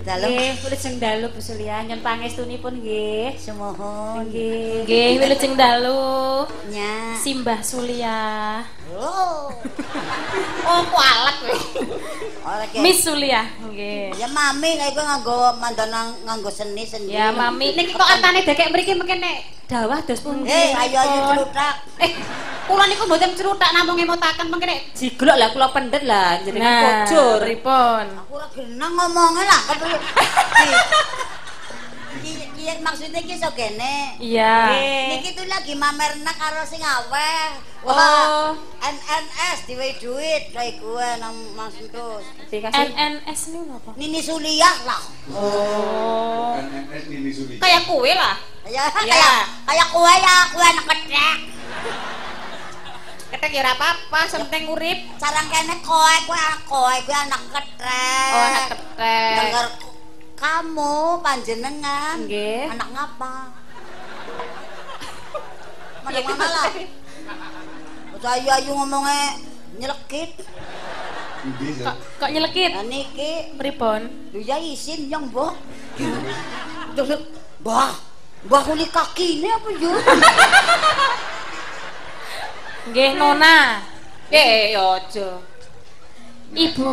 Nggih, wilujeng dalu Bu Sulia, nyun pangestunipun nggih. Semohon. Nggih. Nggih, wilujeng dalu. Nya. Simbah Sulia. Oh. Oh, kualet kowe. Ora ke. Miss Sulia, nggih. Ya mami kae kowe nganggo mandana nganggo seni. Ya mami Niki kok antane dekek mriki mungkin nek dawah dos pundi. Ayo cerutak. Kula niku mboten cerutak namung ngemotaken mungkin nek jiglok lah kula pendet lah jenengan kojur. Pripun? Aku ora genang ngomongnya lah. Iya maksudnya ki iso kene. Iya. Niki tuh lagi mamerna karo sing aweh. Oh. NNS diwe duit kayak gue nang Mas Entus. Dikasih NNS ini apa? Nini Suliah lah. Oh. NNS Nini Suliah. kayak kue lah. Ya kayak kue ya, kue anak ketek. Ketek ya ora apa-apa, penting urip. Sarang kene kue anak ketek. Oh, anak ketek. Dengar kamu panjenengan. Nggih. Anak ngapa? Mana lah. Saya ayu ngomongnya nyelekit. Kok nyelekit? Nah niki Pripun? lu ya isin yang mbah. Mbah kuli kaki ini apa yo? Nggih, Nona. Yo aja. Ibu.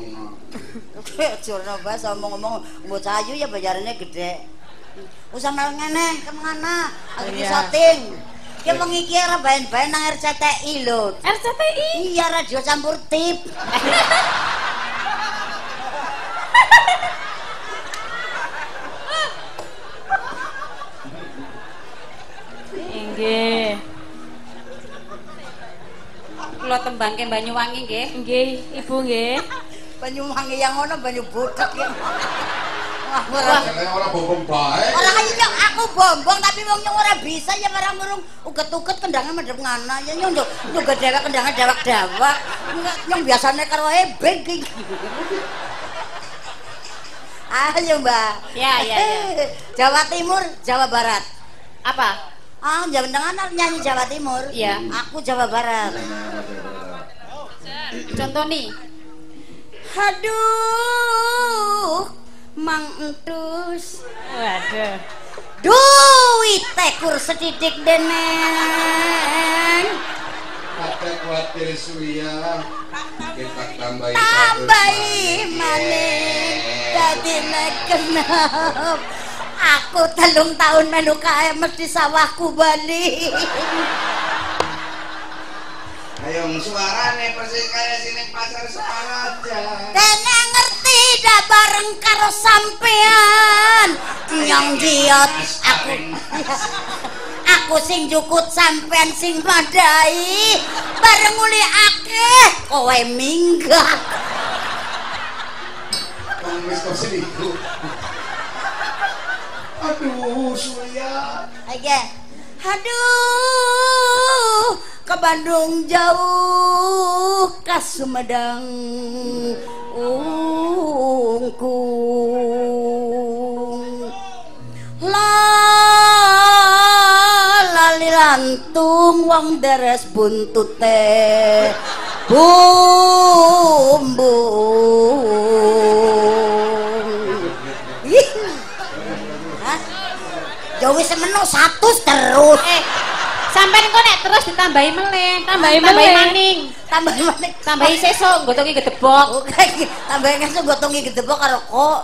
Jurno bas ngomong-ngomong bocah ayu ya bayarannya gede. Usah mel ngene kemana? Lagi syuting. Ki wengi iki ora baen-baen nang RCTI lho. RCTI? Iya radio campur tip. Nggih. Kula tembangke Banyuwangi nggih. Nggih, Ibu nggih. Banyuwangi yang ngono banyu bodak ya. Wah, Jangan orang bombong baik. ora kaya aku bombong tapi wong nyong ora bisa ya barang urung uget-uget kendangnya madhep ngana ya nyong juga dewek kendangnya dewek-dewek. Nyong biasane karo ebeng iki. Ayo, Mbak. Ya. Jawa Timur, Jawa Barat. Apa? Jawa Tengah nyanyi Jawa Timur. Iya. Aku Jawa Barat. Contoh nih. Aduh, Mang Entus. Waduh. Duit tekur sedidik deneng. Kata kuatir Suliah. Kita tambahi Maning dadi nek kenap. Aku 3 tahun melu kae mesti sawahku bali. Ayo suarane persis kayak sini pasar Sukaraja. Dene ngerti dah bareng karo sampean. Nyong jiot aku sing jukut sampean sing madai. Bareng uli akeh kowe minggat. Wis kok selingkuh. Aduh, Suliah. Aja. Aduh, ke Bandung jauh, ke Sumedang ungkung. Lali lantung wong deres buntute bumbung. Ya wis semeno 100 terus. Sampai kok nek terus ditambahi meleh, tambahi maning, tambahi sesuk nggotongi gedebok. Tambahi sesuk nggotongi gedebok karo kok.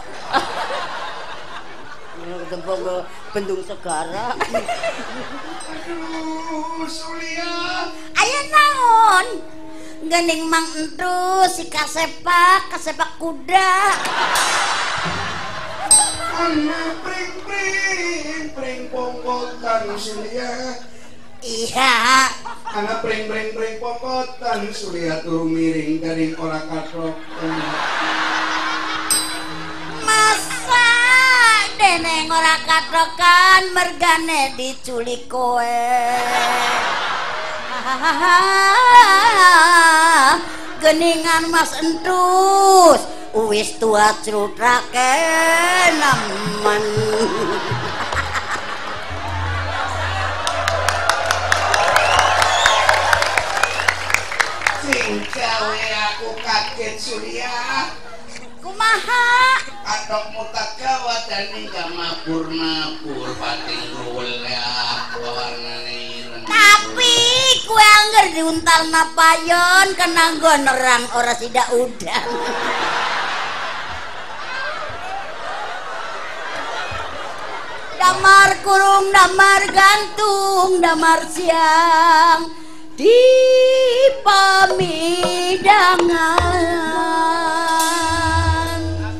Gedebok bendung segara. Aduh, Suliah. Ayo naon? Gening Mang Entus si kasepak kuda. Anak pring pongkotan Suliah. Iya. Anak pring pongkotan Suliah turu miring dari ora katrok. Masa deneng ora katrokan mergane diculik kowe. Geningan Mas Entus wis tua crutrake nemen. Sing gawe aku kaget Suliah. Kumaha? patok mutak Jawa dan hingga mabur-mabur pating ruwel ya warnane ireng. Tapi kue angger diuntal napayon kena nggon nerang ora sidak udan. Damar kurung, damar gantung, damar siang di pamidangan.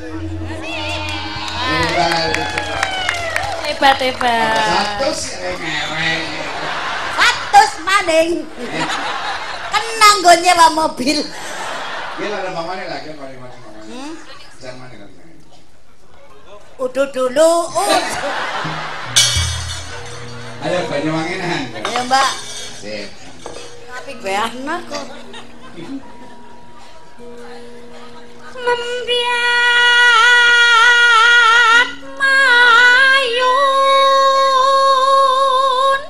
Hebat. Satu sih ngereng. Satus maning. Kena nggon nyewa mobil. Gila ada mamane lagi paling-paling. Jangan mana lagi. Udah dulu. Ayo Banyuwanginan. Ayo Mbak. Sip. Tapi gue anak kok. Membiak mayun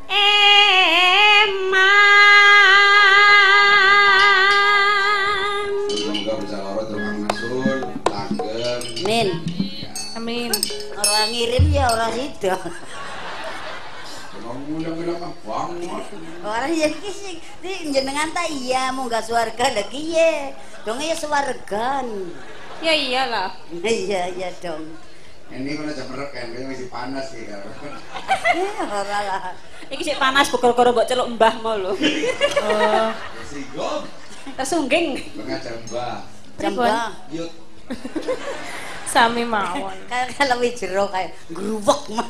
eman. Semoga bisa loro tukang masul, langgeng. Min. Amin. Orang ngirim ya orang sido. Ngomong-ngomong mah banget. Orang yang kisih di jenengan ta iya mau gak swarga lagi ye. Dong ya swargan. Ya iyalah. Iya dong. Ini kalau jam reken, kayaknya masih panas sih kalau. Ora lah. Iki sik panas bokor-bokor mbok celuk mbah mau lho. Oh. Masih gom. Tersungging. Mengajar mbak. Jambah. Yuk. Sami mawon. Kayak kalau jero kayak grubek mah.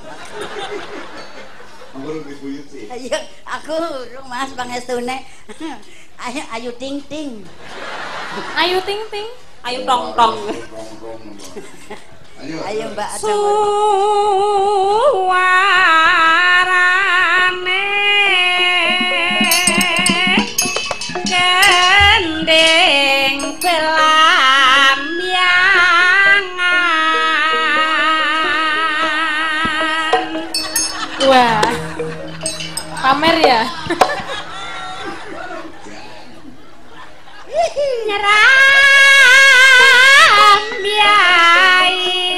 Aku lebih buyut sih. Ayo aku Mas pangestune. Ayo ting ting. Ayu ting ting. Ayo tong tong. Ayo. Ayo Mbak ada. Suarane gendeng pelamyangan. Wah. Pamer ya. Nyeram biai.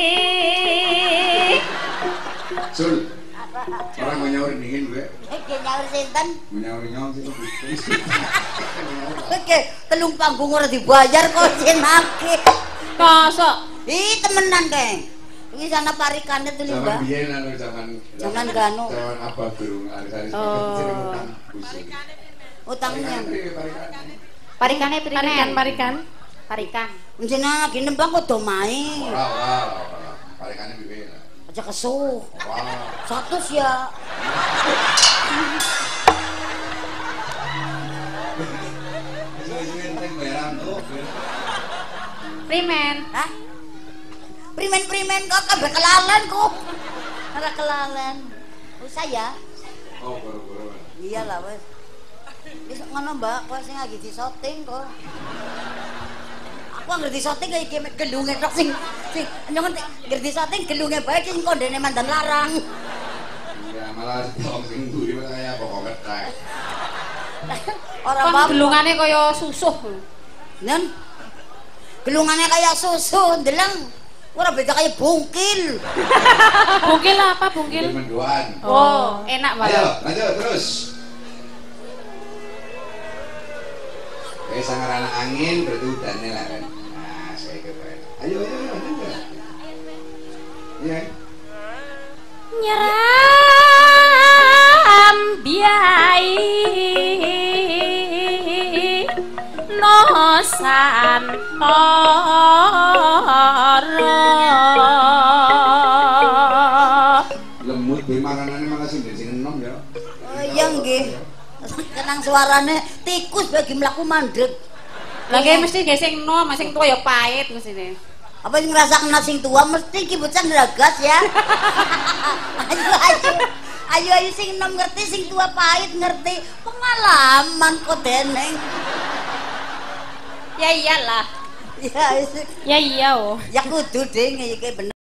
Sul. Orang mau nyaur dingin gue. Nyaur sinten? Nyaur sih. Oke, telung panggung ora dibayar kok jenake. Kosok. Ih, temenan, Keng. Iki sana parikane tuh lho, Mbak. Zaman biyen anu zaman Ganu. Zaman apa burung aris-aris Utangnya. Parikane prinen. Parikan. Parikan. Jenengan lagi nembang kok do main. Ora. Parikane piye? Aja kesuh. Wah. 100 ya. Isu-isuin sing bayaran tuh. Primen. Hah? Primen kok kabeh kelalen kok. Ora kelalen. Usah ya. Oh, boro-boro. Iyalah wes. Wis ngono Mbak, kok sing lagi di-shooting kok. Aku ngerti shooting kayak game gelunge tok sing nyong ngerti shooting gelunge bae sing kondene mandan larang. Ya malah wong sing mburi kaya pokok ketek. Ora Kon apa-apa. gelungane kaya susuh. Nen. Gelungane kayak susu, ndeleng. Ora beda kayak bungkil. Bungkil apa bungkil? Menduan. Oh, enak Ayo, banget. lanjut terus. Sang anak angin berarti udannya lah kan. Nah, saya kira. Ayo. Iya. Nyeram biai nosan Lemut be makanane malah sing enom ya. Oh iya nggih. Kenang suarane tikus bagi mlaku mandeg. Lagi mesti ge sing nom, sing tuwa ya pahit mestine. Apa sing ngrasakno sing tua mesti ki bocah ndragas ya. Ayo sing nom ngerti sing tua pahit ngerti. Pengalaman kok deneng. Ya iyalah. Ya Ya iya oh. ya kudu ding iki bener.